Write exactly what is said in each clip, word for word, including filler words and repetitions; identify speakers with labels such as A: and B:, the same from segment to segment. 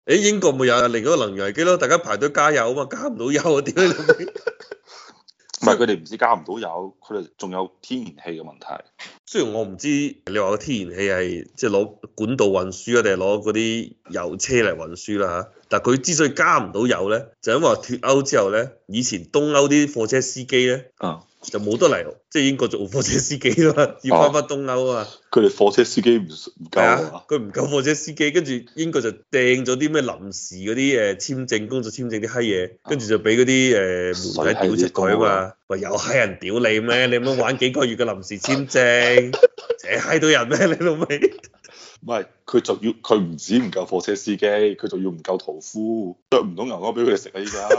A: 誒英國咪有另一個能源危機咯，大家排隊加油啊嘛，加唔到油啊，點解你老味？
B: 唔係佢哋唔止加唔到油，佢哋仲有天然氣嘅問題。
A: 雖然我唔知你話個天然氣係即係攞管道運輸啊，定係攞嗰啲油車嚟運輸啦嚇，但係佢之所以加唔到油咧，就因為脫歐之後咧，以前東歐啲貨車司機咧，
B: 啊、嗯，
A: 就冇得嚟，即係英國做貨車司機啊嘛，要翻返東歐啊嘛。
B: 佢哋貨車司機唔唔夠啊，
A: 佢唔夠貨車司機，跟住英國就掟咗啲咩臨時嗰啲誒簽證、工作簽證啲閪嘢，跟住就俾嗰啲誒媒體屌柒佢啊嘛，話有閪人屌你咩？你乜玩幾個月嘅臨時簽證，扯閪到人咩？你老味？
B: 唔係，佢仲要佢唔止唔夠貨車司機，佢仲要唔夠屠夫，剁唔到牛牛俾佢哋食啊！依家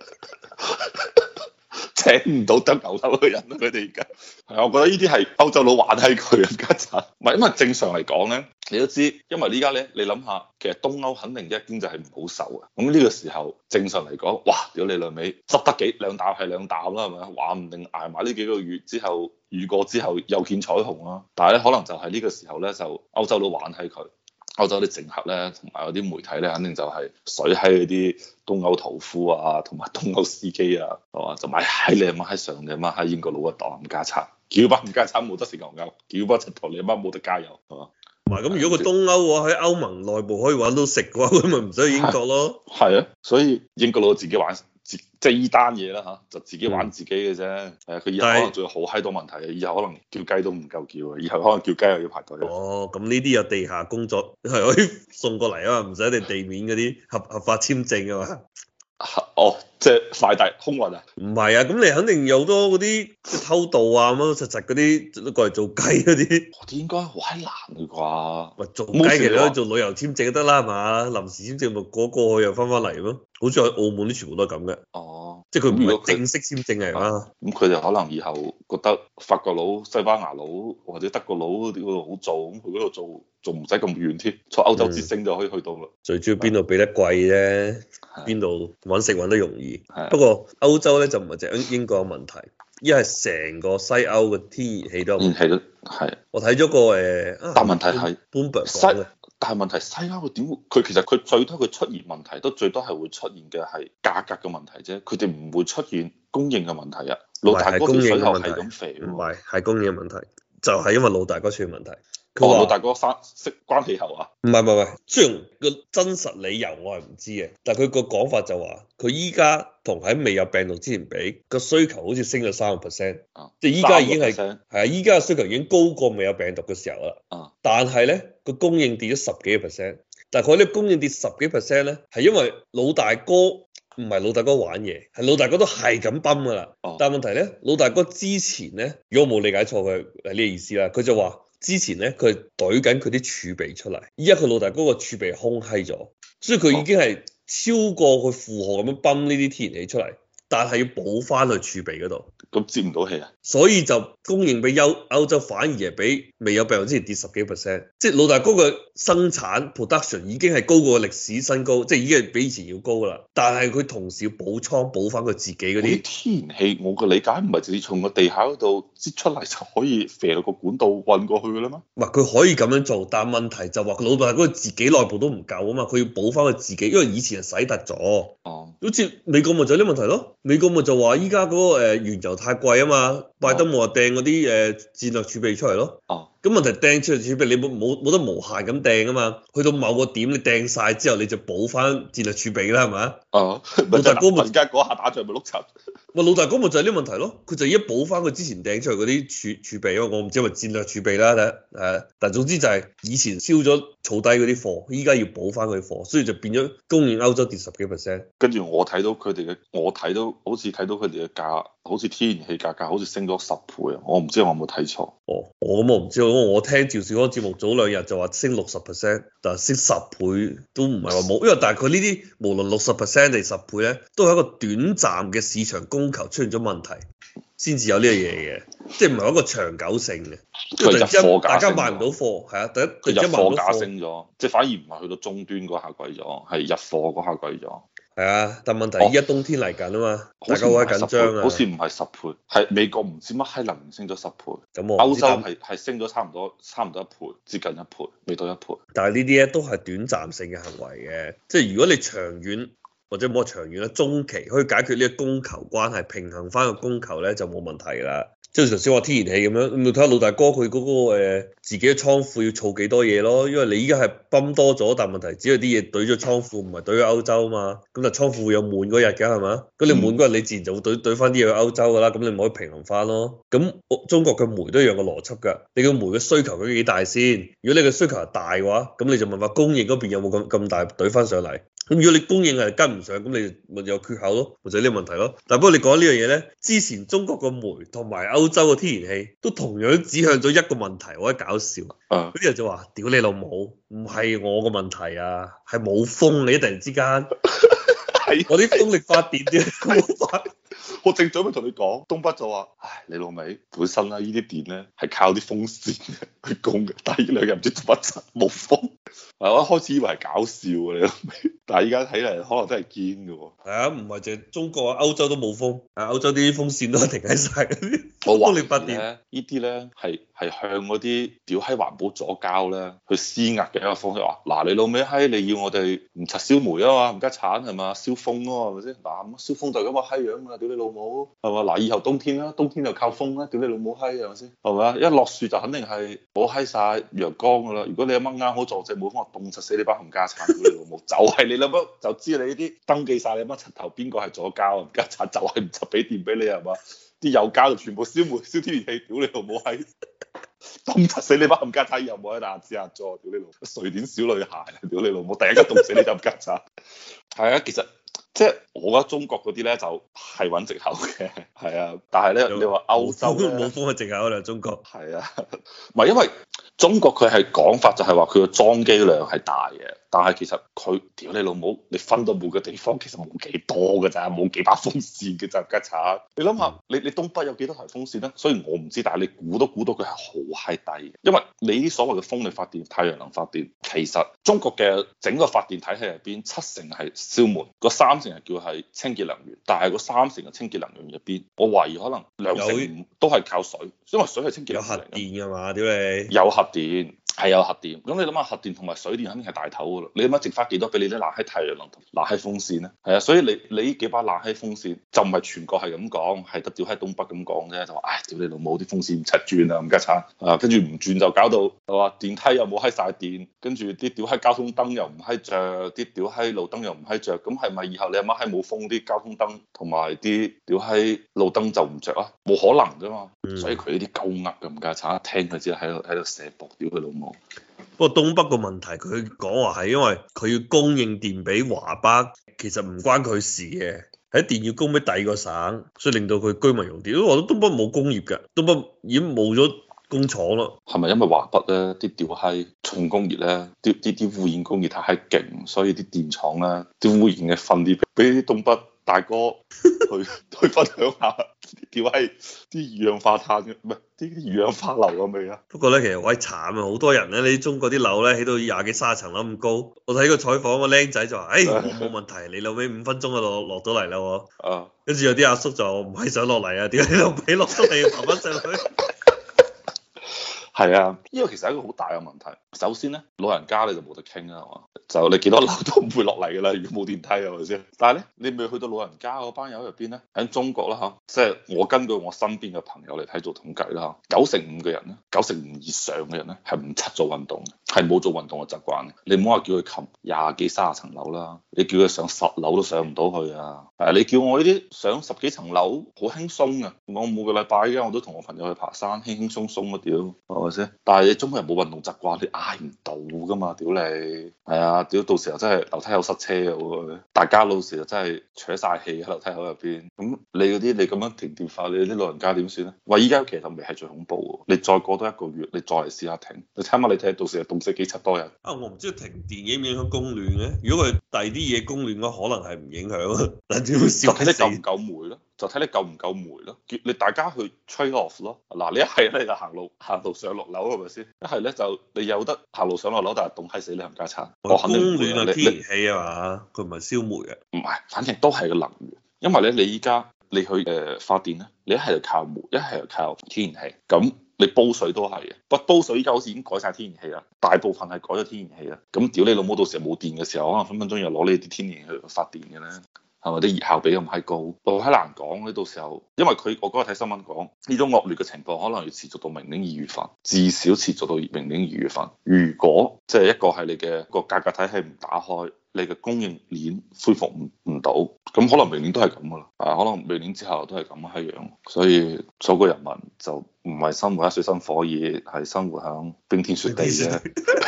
B: 請唔到得牛牛嘅人啊！佢哋而家係啊，我覺得呢啲係歐洲佬玩閪佢啊！家陣唔係，因為正常嚟講咧，你都知，因為依家咧，你諗下，其實東歐肯定一經濟係唔好受啊。咁呢個時候正常嚟講，哇！屌你兩味，執得幾兩啖係兩啖啦，係咪？話唔定捱埋呢幾個月之後，遇過之後又見彩虹啦。但係咧，可能就係呢個時候咧，就歐洲佬玩閪佢。歐洲啲政客咧，同埋嗰啲媒體咧，肯定就係水喺嗰啲東歐屠夫啊，同埋東歐司機啊，係嘛？就買喺你阿媽喺上，你阿媽喺英國佬嘅黨冚家鏟，叫班冚家鏟冇得食牛牛，叫班柒頭你阿媽冇得加油，係嘛？
A: 唔係咁，如果個東歐嘅話喺歐盟內部可以揾到食嘅話，咁咪唔使去英國咯。
B: 係啊，所以英國佬自己玩。即係依單嘢啦嚇，就自己玩自己嘅啫。誒、嗯，佢以後可能仲有好閪多問題嘅，以後可能叫雞都唔夠叫啊，以後可能叫雞又要排隊。
A: 哦，咁呢啲有地下工作係可以送過嚟啊嘛，唔使你地面嗰啲合合法簽證啊嘛。
B: 哦，即係快遞空運啊？
A: 唔係啊，咁你肯定有好多嗰啲即係偷渡啊，乜乜實實嗰啲都過嚟做雞嗰啲。
B: 我啲應該好閪難嘅啩？
A: 喂，做雞其實可以做旅遊簽證就得啦，係嘛？臨時簽證咪過過去又翻返嚟咯。好似喺澳門啲全部都係咁嘅。
B: 哦，
A: 即係佢唔係正式簽證嚟嘛？
B: 咁佢哋可能以後覺得法國佬、西班牙佬或者德國佬嗰度好做，咁佢嗰度做仲唔使咁遠添，坐歐洲之星就可以去到啦。
A: 嗯、最主要邊度俾得貴啫，邊度揾食揾得容易。不過歐洲咧就唔係淨係英國有問題，依係成個西歐嘅天然氣都有問題。
B: 天然氣都係。我
A: 睇咗個誒，
B: 但問題係
A: Bloomberg
B: 西，但係問題西歐佢點會？佢其實佢最多佢出現問題都最多係會出現嘅係價格嘅問題啫，佢哋唔會出現供應嘅問題啊。老大哥條水喉係咁肥，
A: 唔係係供應嘅問題，就係、是、因為老大哥出現問題。
B: 佢話、哦、老大哥翻識關氣喉啊？
A: 唔係唔係唔係，雖然個真實理由我係唔知嘅，但係佢個講法就話，佢依家同喺未有病毒之前比個需求好似升咗三個 percent，即係依家已經係係啊，依家嘅需求已經高過未有病毒嘅時候啦。
B: 啊，
A: 但係咧個供應跌咗十幾個 percent，但係佢啲供應跌十幾 percent 咧，係因為老大哥唔係老大哥玩嘢，係老大哥都係咁泵噶啦。啊、但係問題咧，老大哥之前咧，如果我冇理解錯佢係呢個意思啦，佢就話。之前咧，佢懟緊佢啲儲備出嚟，依家佢老大哥個儲備空閪咗，所以佢已經係超過佢負荷咁樣泵呢啲天然氣出嚟，但係要補翻去儲備嗰度，
B: 咁接唔到氣啊，
A: 所以就供應俾歐歐洲反而係比未有病毒之前跌十幾 percent，即係老大哥嘅生產 production 已經係高過歷史新高，即係已經係比以前要高啦，但係佢同時要補倉補翻佢自己嗰啲
B: 天然氣，我嘅理解唔係直接從個地下嗰度擠出嚟就可以射到個管道運過去嘅啦咩？
A: 唔係佢可以咁樣做，但係問題就話佢老大哥自己內部都唔夠啊嘛，佢要補翻佢自己，因為以前係洗突咗。哦，好似美國咪就係呢問題咯，美國咪就話依家嗰個誒原油太貴啊嘛，拜登冇話掟嗰啲誒戰略儲備出嚟咯。哦。咁問題掟出嚟儲備，你冇冇冇得無限咁掟啊嘛？去到某個點你掟晒之後，你就補翻戰略儲備啦，係咪？哦，老大哥咪
B: 而家嗰下打仗咪碌柒？
A: 喂，老大哥咪就係呢個問題咯，佢就一補翻佢之前掟出嚟嗰啲儲儲備，因為我唔知係咪戰略儲備啦，誒，但係總之就係以前燒咗儲低嗰啲貨，依家要補翻佢啲貨，所以就變咗供應歐洲跌十幾 percent。
B: 跟住我睇到佢哋嘅，我睇到好似睇到佢哋嘅價，好似天然氣價格好似升咗十倍啊！我唔知我有冇睇錯。
A: 哦，我咁我唔知，我聽趙少康節目早兩日就話升六十 percent，但係升十倍都唔係話冇，因為但係佢呢啲無論六十 percent 定十倍咧，都係一個短暫嘅市場供求出現咗問題，先至有呢樣嘢嘅，即係唔係一個長久性嘅。
B: 佢入貨價
A: 大家買唔到貨，係啊，第一
B: 佢入貨價升咗，即係反而唔係去到終端嗰下貴咗，係入貨嗰下貴咗。
A: 係啊，但問題依家冬天嚟緊啊嘛，大家好鬼緊張啊。
B: 好似唔係十倍，係美國唔知乜閪能源升咗十倍，
A: 咁我
B: 歐洲係係升咗差唔多差唔多一倍，接近一倍，未到一倍。
A: 但係呢啲咧都係短暫性嘅行為嘅，即係如果你長遠或者冇話長遠啦，中期可以解決呢個供求關係，平衡翻個供求咧就冇問題啦。即係頭先話天然氣咁樣，咁你睇下老大哥佢嗰、那個、呃、自己嘅倉庫要儲幾多嘢咯？因為你依家係泵多咗，但問題只係啲嘢堆咗倉庫，唔係堆咗歐洲啊嘛。咁但倉庫會有滿嗰日嘅係嘛？咁你滿嗰日你自然就會堆堆翻啲嘢去歐洲㗎啦。咁你咪可以平衡翻咯。咁中國嘅煤都一樣嘅邏輯㗎。你個煤嘅需求究竟幾大先？如果你嘅需求係大嘅話，咁你就問下供應嗰邊有冇咁咁大堆翻上嚟？咁如果你供應係跟唔上，咁你咪有缺口咯，或者呢個問題咯。但不過你講呢樣嘢咧，之前中國個煤同埋歐洲嘅天然氣都同樣指向咗一個問題，我覺得搞笑。
B: 啊！
A: 嗰啲人就話：屌你老母，唔係我個問題啊，係冇風你突然之間，我啲風力發電啲冇發。
B: 我正準備同你講，東北就話：唉，你老味本身啦，呢啲電咧係靠啲風扇去供嘅，但係呢兩日唔知做乜柒冇風。係我一開始以為係搞笑嘅你老味，但係依家睇嚟可能真係堅嘅喎。
A: 係啊，唔係淨係中國啊，歐洲都冇風，啊歐洲啲風扇都停喺晒嗰啲。
B: 我話
A: 風力發電
B: 咧，呢啲咧係係向嗰啲屌閪環保左膠咧去施壓嘅一個方式。話嗱，你老味閪，你要我哋唔拆燒煤啊嘛，唔加產係嘛，燒風咯係咪先？嗱，燒風就咁個閪樣啊，屌你老母係嘛？嗱，以後冬天啦，冬天就靠風啦，屌你老母閪係咪先？係咪？一落雪就肯定係冇閪晒陽光噶啦。如果你阿媽啱好撞正冇風，我凍柒死你班冚家產，屌你老母！就係你諗乜就知你呢啲登記晒你乜柒頭邊個係左膠啊？冚家產就係唔插俾電俾你係嘛？啲有膠就全部燒煤燒天然氣，屌你老母閪！凍柒死你班冚家產，又冇喺大字下座，屌你老母！瑞典小女孩，屌你老母！第一個凍死你就冚家產。係啊，其實即係我覺得中國嗰啲咧就係揾藉口嘅，係啊。但係咧有你話歐洲
A: 冇風嘅藉口啦，中國。
B: 係啊，唔係因為中國佢係講法就係話佢個裝機量係大嘅。但係其實佢屌你老母，你分到每個地方其實冇幾多㗎咋，冇幾把風扇嘅咋，家產。你諗下，你你東北有幾多台風扇咧？雖然我唔知，但係你估都估到佢係好閪低嘅。因為你啲所謂嘅風力發電、太陽能發電，其實中國嘅整個發電體系入邊，七成係燒煤，嗰三成係叫係清潔能源。但係嗰三成嘅清潔能源入邊，我懷疑可能兩成五都係靠水，因為水係清潔能源。有核
A: 電㗎嘛？屌你！
B: 有核電。係有核電，咁你諗下核電同埋水電肯定係大頭噶咯。你諗下剩翻幾多俾你啲冷氣太陽能同冷氣風扇咧？係啊，所以你你呢幾把冷氣風扇就唔係全國係咁講，係得屌喺東北咁講啫。就話唉，屌你老母啲風扇唔柒轉啊，咁家產啊，跟住唔轉就搞到係話電梯又冇閪晒電，跟住啲屌喺交通燈又唔閪着，啲屌喺路燈又唔閪着。咁係咪以後你阿媽閪冇風，啲交通燈同埋啲屌喺路燈就唔着啊？冇可能噶嘛。嗯、所以佢呢啲鳩噏咁家產，一聽佢知喺度喺度射博，屌佢老母。
A: 不過東北個問題，佢講話係因為佢要供應電俾華北，其實唔關佢事嘅，喺電要供俾第二個省，所以令到佢居民用電。因為我覺得東北冇工業嘅，東北已經冇咗工廠咯。係咪
B: 因為華北咧啲屌閪重工業咧，啲啲啲污染工業太閪勁，所以啲電廠咧啲污染嘅分啲俾啲東北大哥去去分享下，屌閪啲二氧化碳嘅，唔係啲二氧化硫嘅味啊！
A: 不過咧，其實好閪慘啊，好多人咧，你中國啲樓咧起到廿幾卅層樓咁高。我睇個採訪個僆仔就話：，誒、哎，我冇問題，你老尾五分鐘就落落到嚟啦喎。啊！跟住有啲阿叔就唔係想落嚟啊，點解你老尾落到嚟要爬翻上去？
B: 係啊，呢個其實係一個好大嘅問題。首先咧，老人家你就冇得傾啊，係嘛？就你幾多樓都唔會落嚟㗎啦，如果冇電梯係咪先？但係咧，你未去到老人家嗰班友入邊咧，喺中國啦嚇，即係我根據我身邊嘅朋友嚟睇做統計啦，九成五嘅人咧，九成五以上嘅人咧係唔出做運動嘅，係冇做運動嘅習慣嘅。你唔好話叫佢擒廿幾卅層樓啦，你叫佢上十樓都上唔到去啊！誒，你叫我呢啲上十幾層樓好輕鬆啊！我每個禮拜嘅我都同我朋友去爬山，輕輕鬆鬆嘅屌，係咪先？但係你中國人冇運動習慣，你捱唔到㗎嘛？屌你，係啊！屌到時候真係樓梯口塞車嘅喎，大家到時候真係扯晒氣喺樓梯口入邊。咁你嗰啲你咁樣停電法，你啲老人家點算咧？喂，依家其實未係最恐怖喎，你再過多一個月，你再嚟試下停，你睇下你睇到時候凍死幾七多人。
A: 啊，我唔知道停電影唔影響供暖嘅。如果佢第二啲嘢供暖嘅話，可能係唔影響啊。但點會燒？
B: 睇你夠唔夠煤咯？ 就睇你夠唔夠煤咯，叫你大家去 trade off 咯。嗱，你一係咧就行路行路上落樓係咪先？一係咧就你有得行路上落樓，但係凍閪死你冚家鏟。我肯定唔會啊！
A: 供暖啊，
B: 你
A: 天然氣啊嘛，佢唔係燒煤啊。
B: 唔係，反正都係個能源。因為咧，你依家你去誒發電咧，你一係就靠煤，一係就靠天然氣。咁你煲水都係嘅，不過煲水依家好似已經改晒天然氣啦，大部分係改咗天然氣啦。咁屌你老母，到時候冇電嘅時候，可能分分鐘又攞你啲天然氣去發電嘅咧。係咪啲熱效比咁閪高？好閪難講咧，到時候，因為佢我嗰日睇新聞講，呢種惡劣嘅情況可能要持續到明年二月份，至少持續到明年二月份。如果即係一個係你嘅個價格體系唔打開，你嘅供應鏈恢復唔唔到，咁可能明年都係咁噶啦。啊，可能明年之後都係咁閪樣。所以所有人民就唔係生活喺水深火熱，係生活喺冰天雪地啫。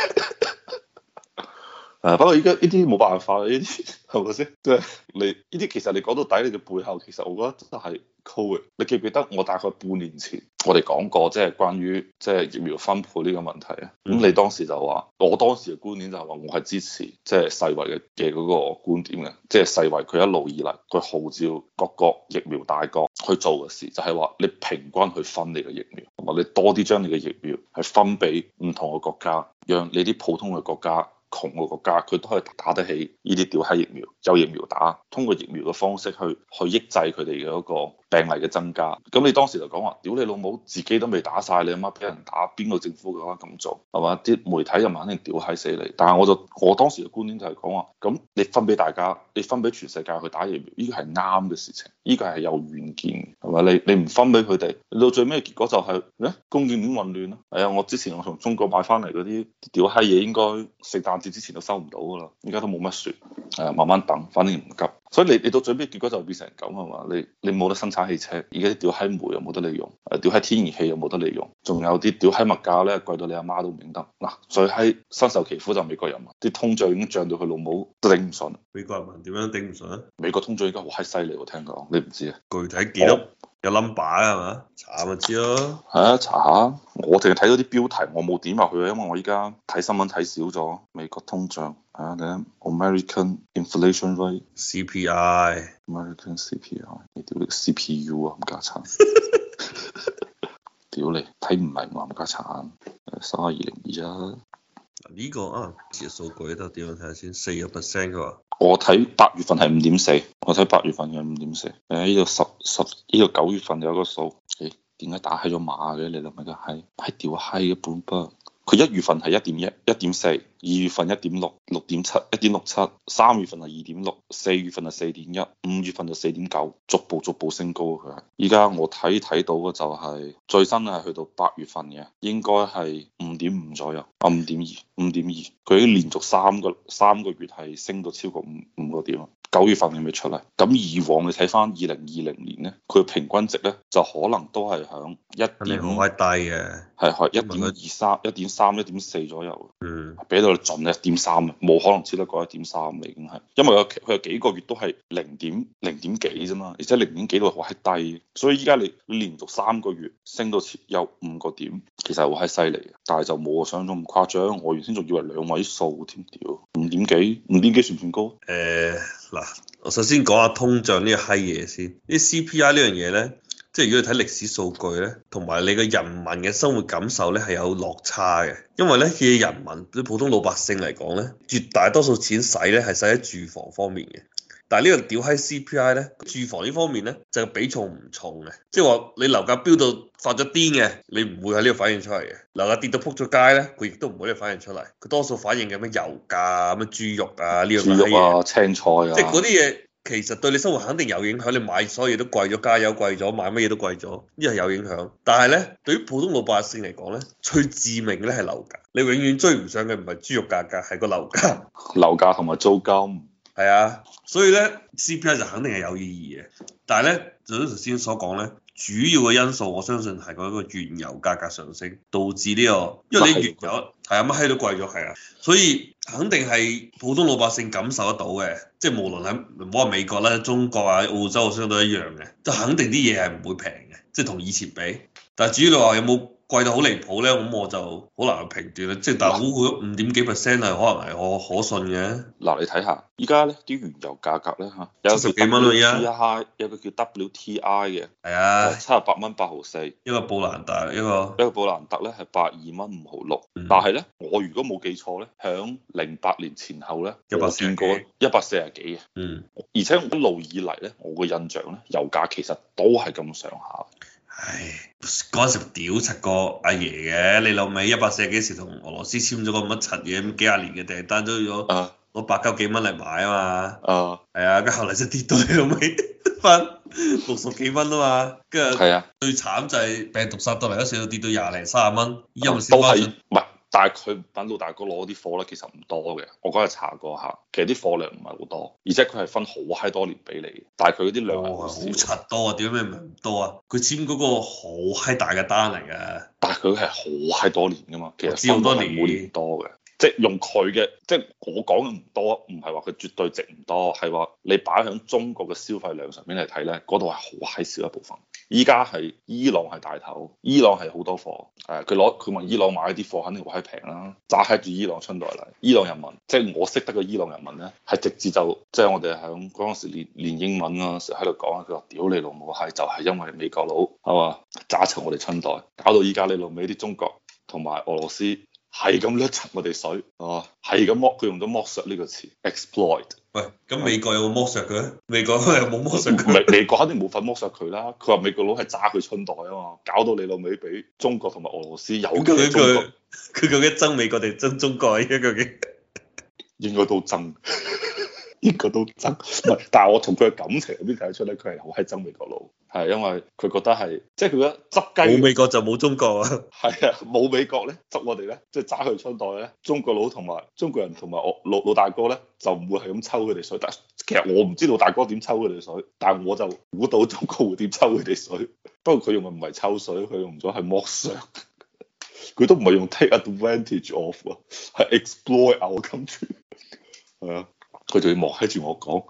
B: 誒，不過依家呢啲冇辦法，呢啲係咪先？即係你呢啲其實你講到底，你嘅背後其實我覺得真係 Covid。你記唔記得我大概半年前我哋講過，即係關於即係疫苗分配呢個問題啊？咁你當時就話，我當時嘅觀點就係話，我係支持即係世衛嘅嘅嗰個觀點嘅，即係世衛佢一路以嚟佢號召各國疫苗大國去做嘅事，就係話你平均去分你嘅疫苗，同埋你多啲將你嘅疫苗係分俾唔同嘅國家，讓你啲普通嘅國家，窮嘅國家佢都可以打得起呢啲屌閪疫苗，有疫苗打，通過疫苗嘅方式去去抑制佢哋嘅嗰個病例嘅增加。咁你當時就講話，屌你老母，自己都未打晒，你阿媽俾人打，邊個政府嘅話咁做係嘛？啲媒體又肯定屌閪死你。但係我就我當時嘅觀點就係講話，咁你分俾大家，你分俾全世界去打疫苗，呢個係啱嘅事情，呢個係有遠見係咪？你你唔分俾佢哋，你到最尾結果就係咧供應鏈混亂咯。係啊，我之前我從中國買翻嚟嗰啲屌閪嘢，應該聖誕節之前都收唔到噶啦，而家都冇乜船，誒慢慢等，反正唔急。所以你你到最尾結果就變成咁係嘛？你你冇得生產汽車，而家啲屌閪煤又冇得你用，誒屌閪天然氣又冇得你用，仲有啲屌閪物價咧貴到你阿媽都唔認得。嗱，最閪身受其苦就美國人民，啲通脹已經漲到佢老母都頂唔順。美國人民點樣頂唔順啊？美國通脹而家好閪犀利喎，聽講你唔知啊？具體幾多？有 number 啊係嘛？查下咪知咯。係啊，查下。我淨係睇到啲標題，我冇點入去啊，因為我依家睇新聞睇少咗。美國通脹啊，你睇 American inflation rate，C P I，American C P I，你屌你 C P U 啊，冚家鏟。屌你，睇唔明喎，冚家鏟。三二零二一。呢個啊，啲數據得點樣睇下先？四個 percent 佢話。我睇八月份係五點四，我睇八月份嘅五點四。誒，呢個十十呢個九月份有個數。誒，點解打閪咗碼嘅？你諗下個閪，係屌閪嘅本筆。佢一月份係一點一、一點四，二月份一點六、六點七、一點六七，三月份係二點六，四月份係四點一，五月份就四點九，逐步逐步升高佢係。依家我睇睇到嘅就係、是、最新係去到八月份嘅，應該係五點五左右，啊五點二、五點二，佢已經連續三個三個月係升到超過五五個點。九月份係未出嚟，咁以往你睇翻二零二零年咧，佢嘅平均值咧就可能都係響一點五，係低嘅，係係一點二三、一點三、一點四左右。嗯，俾到你盡一點三啊，冇可能超得過一點三已經係，因為佢有幾個月都係零點零點幾啫嘛，而且零點幾都好閪低，所以依家你你連續三個月升到有五個點，其實係好閪犀利嘅，但係就冇我想像中咁誇張，我原先仲以為兩位數添，屌五點幾，五點幾算唔算高？誒、呃。嗱，我首先講下通脹呢個閪嘢先。啲 C P I 呢樣嘢咧，即係如果你睇歷史數據咧，同埋你個人民嘅生活感受咧係有落差嘅。因為咧，以人民對普通老百姓嚟講咧，絕大多數錢使咧係使喺住房方面嘅。但係呢個屌閪 C P I 咧，住房呢方面咧就比重唔重嘅，即係話你樓價飆到發咗癲嘅，你唔會喺呢度反映出嚟嘅。樓價跌到撲咗街咧，佢亦都唔會喺度反映出嚟。佢多數反映嘅咩油價、咩豬肉啊呢樣嘢。豬肉啊、青菜啊。即係嗰啲嘢其實對你生活肯定有影響。你買所有嘢都貴咗，加油貴咗，買乜嘢都貴咗，呢係有影響。但係咧，對於普通老百姓嚟講咧，最致命嘅咧係樓價。你永遠追唔上嘅唔係豬肉價格，係個樓價。樓價同埋租金。係啊，所以咧 C P I 就肯定係有意義嘅，但係咧就好似頭先所講咧，主要嘅因素我相信係嗰個原油價格上升導致呢個，因為你原油係啊乜閪都貴咗，係啊，所以肯定係普通老百姓感受得到嘅，即係無論喺唔好話美國啦、中國啊、澳洲相對一樣嘅，就肯定啲嘢係唔會平嘅，即係同以前比。但係至於你話有冇
A: 貴到好離譜咧，咁我就好難去評斷啦。即係但係估佢五點幾 percent 係可能係可可信嘅。
B: 嗱，你睇下，依家咧啲原油價格咧嚇，有
A: 七十幾蚊咯，而家
B: 有個叫 W T I 嘅，
A: 係啊，
B: 七十八蚊八毫四，
A: 一個布蘭達，一個
B: 一個布蘭特咧係八二蚊五毫六。
A: 嗯、
B: 但係咧，我如果冇記錯咧，響零八年前後咧，我見過一百四十幾嘅。
A: 嗯，
B: 而且一路以嚟咧，我個印象咧，油價其實都係咁上下。
A: 唉，嗰陣時屌柒個阿爺嘅，你老味一百四十幾時同俄羅斯簽咗個乜柒嘢，幾廿年嘅訂單都要攞攞百九幾蚊嚟買啊嘛。啊，係啊，跟住後嚟就跌到你老味翻六十幾蚊啊嘛。跟住係啊，最慘就係病毒殺到嚟嗰時，跌到廿零三十蚊，依家咪先翻上。
B: 但係佢等老大哥攞啲貨咧，其實唔多嘅。我嗰日查過下，其實啲貨量唔係好多，而且佢係分好閪多年俾你。但係佢嗰啲量係好
A: 柒多啊！點解唔多啊？佢簽嗰個好閪大嘅單嚟嘅。
B: 但係佢係好閪多年噶嘛，其實
A: 知好多年，
B: 每年多嘅。即係用佢嘅，即係我講嘅唔多，唔係話佢絕對值唔多，係話你擺喺中國嘅消費量上面嚟睇咧，嗰度係好閪少一部分。依家係伊朗係大頭，伊朗係好多貨，誒佢攞佢問伊朗買啲貨肯定好閪平啦，揸喺住伊朗春袋嚟。伊朗人民，即係我識得嘅伊朗人民咧，係直接就即係我哋喺嗰陣時練練英文嗰陣時喺度講，佢話屌你老母係就係因為美國佬係嘛揸齊我哋春袋，搞到依家你老味啲中國同埋俄羅斯。係咁掠柒我哋水，哦，係咁剝，佢用咗剝削呢個詞 exploit。
A: 喂，咁美國有冇剝削佢咧？美國有冇剝削佢？
B: 美美國肯定冇份剝削佢啦。佢話美國佬係揸佢春袋啊嘛，搞到你老味俾中國同埋俄羅斯有嘅中國。
A: 佢究竟憎美國定憎中國啊？依家究竟
B: 應該都憎，應該都憎。唔係，但係我從佢嘅感情入邊睇得出咧，佢係好閪憎美國佬。係因為佢覺得係，即係佢覺得執雞
A: 冇美國就冇中國啊。
B: 係啊，冇美國咧執我哋咧，即係揸佢春袋咧，中國佬同埋中國人同埋我老老大哥咧就唔會係咁抽佢哋水。但其實我唔知老大哥點抽佢哋水，但係我就估到中國會點抽佢哋水。不過佢用嘅唔係抽水，佢用咗係剝削。佢都唔係用 take advantage of 啊，係 exploit our country。係啊，佢仲要望喺住我講。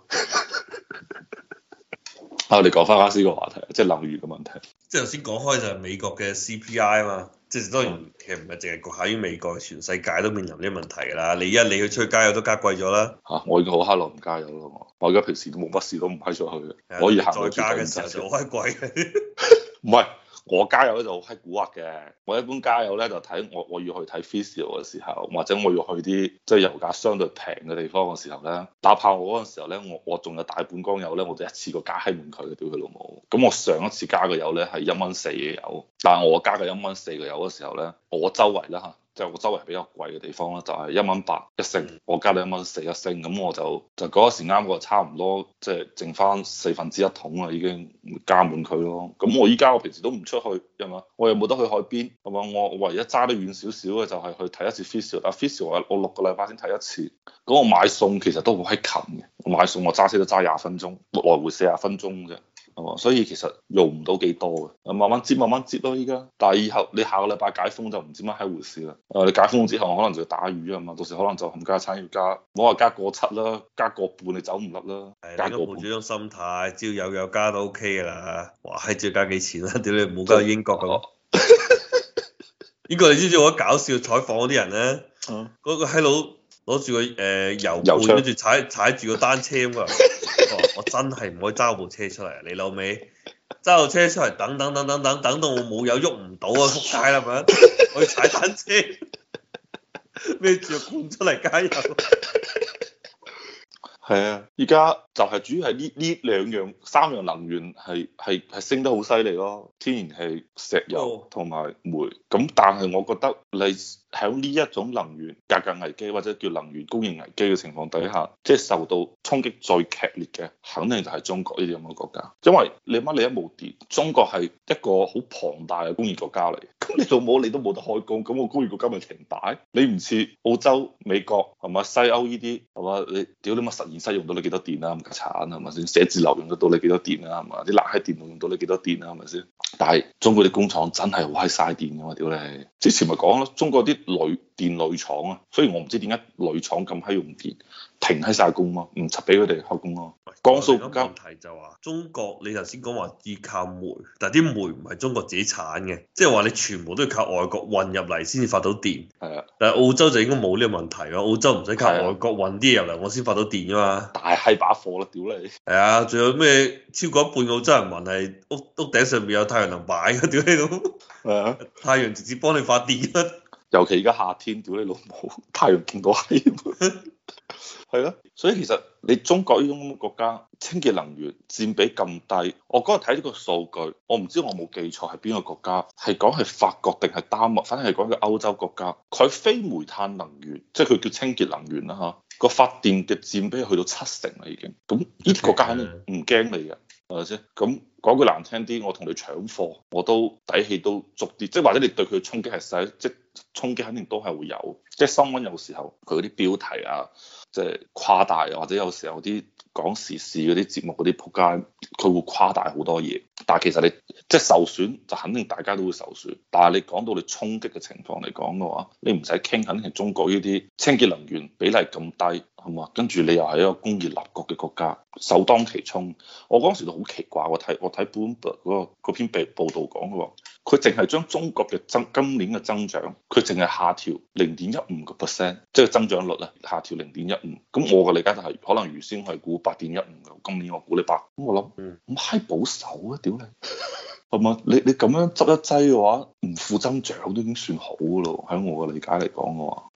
B: 我哋講翻啱先個話題，即係能源嘅問題。
A: 即係頭先講開就係美國嘅 C P I 啊嘛，即係當然其實唔係淨係局限於美國，全世界都面臨呢啲問題㗎啦。你一你去出去加油都加貴咗啦。
B: 嚇！我已經好閪耐唔加油啦，我我而家平時都冇乜事都唔閪出去嘅，可以行
A: 再加嘅時候就好閪貴。
B: 唔係。我加油咧就好閪蠱惑嘅，我一般加油咧就睇我我要去睇 Physio 嘅時候，或者我要去啲即係油價相對平嘅地方嘅時候咧，哪怕我嗰陣時候咧，我我仲有大半缸油咧，我就一次過加閪滿佢嘅，屌佢老母！咁我上一次加嘅油咧係一蚊四嘅油，但係我加嘅一蚊四嘅油嘅時候咧，我周圍啦嚇。即係我周圍比較貴嘅地方啦，就係一蚊八一升，我加到一蚊四一升，咁我就就嗰時啱個差唔多，即係剩翻四分之一桶啦，已經加滿佢咯。咁我依家我平時都唔出去，係嘛？我又冇得去海邊，係嘛？我唯一揸得遠少少嘅就係去睇一次 physio，但 physio 我我六個禮拜先睇一次。咁我買餸其實都好閪近嘅，我買餸我揸車都揸廿分鐘，來回四十分鐘啫。係嘛？所以其實用唔到幾多嘅，慢慢接慢慢接咯依家。但係以後你下個禮拜解封就唔知乜閪回事啦。誒，你解封之後可能就要打魚啊嘛，到時可能就冚家產要加，唔好話加個七啦，加個半你走唔甩啦。
A: 係，加個半。抱住種心態，只要有有加都 OK 噶啦。哇，係只要加幾錢啊？屌你唔好加英國咁。英國你知唔知我搞笑採訪嗰啲人咧？嗰、嗯、個閪佬攞住個誒油罐，跟住踩踩住個單車咁啊！我真係唔可以揸部車出嚟，你老味揸部車出嚟等等等等等等到我冇油喐唔到啊！仆街啦咪，我要踩單車孭住個罐出嚟加油。
B: 係啊，而家就係主要係呢呢兩樣三樣能源係係係升得好犀利咯，天然氣、石油同埋煤。咁但係我覺得你喺呢一種能源價格危機或者叫能源供應危機嘅情況底下，即係受到衝擊最劇烈嘅，肯定就係中國呢啲咁嘅國家。因為你乜你一冇電，中國係一個好龐大嘅工業國家嚟，咁你老母你都冇得開工，咁個工業國家咪停擺？你唔似澳洲、美國係嘛西歐呢啲係嘛？你屌你乜實驗室用到你幾多電啊？咁家產係咪先？寫字樓用得到你幾多電啊？係嘛？啲冷氣電腦用到你幾多電啊？係咪先？但係中國啲工廠真係好閪嘥電㗎嘛！屌你！之前咪講咯，中國啲鋁電鋁廠啊，所以我唔知點解鋁廠咁閪用電。 停喺晒工咯，唔俾佢哋開工咯。江蘇
A: 個問題就話中國，你頭先講話依靠煤，但係啲煤唔係中國自己產嘅，即係話你全部都要靠外國運入嚟先至發到電。
B: 係啊，
A: 但係澳洲就應該冇呢個問題咯，澳洲唔使靠外國運啲嘢入嚟，我先發到電噶嘛。
B: 大閪把貨啦，屌你！
A: 係啊，仲有咩超過一半澳洲人民係屋屋頂上面有太陽能擺嘅，屌你老母！
B: 係啊，
A: 太陽直接幫你發電啊！
B: 尤其而家夏天，屌你老母，太陽勁到閪。係咯，所以其實你中國呢種咁嘅國家，清潔能源佔比咁低，我嗰日睇呢個數據，我唔知我冇記錯係邊個國家，係講係法國定係丹麥，反正係講嘅歐洲國家，佢非煤炭能源，即係佢叫清潔能源啦嚇，個發電嘅佔比去到七成啦已經，咁呢啲國家肯定唔驚你嘅，係咪先？咁講句難聽啲，我同你搶貨，我都底氣都足啲，即係或者你對佢嘅衝擊係細，即係衝擊肯定都係會有，即係新聞有時候佢嗰啲標題啊。即係誇大，或者有時候啲講時事嗰啲節目嗰啲仆街，佢會誇大好多嘢。但係其實你即係受損，就肯定大家都會受損。但係你講到你衝擊嘅情況嚟講嘅話，你唔使傾，肯定係中國呢啲清潔能源比例咁低，係嘛？跟住你又係一個工業立國嘅國家，首當其衝。我嗰陣時都好奇怪，我睇我睇 Bloomberg 嗰個嗰篇報報導講嘅喎，佢淨係將中國嘅增今年嘅增長，佢淨係下調零點一五個 percent，即係增長率啊，下調零點一五。咁我嘅理解就係可能原先係估八點一五嘅，今年我估你八。咁我諗，咁閪保守啊，屌你！係嘛？你你咁樣執一劑嘅話，唔負增長都已經算好嘅咯。喺我嘅理解嚟講嘅話，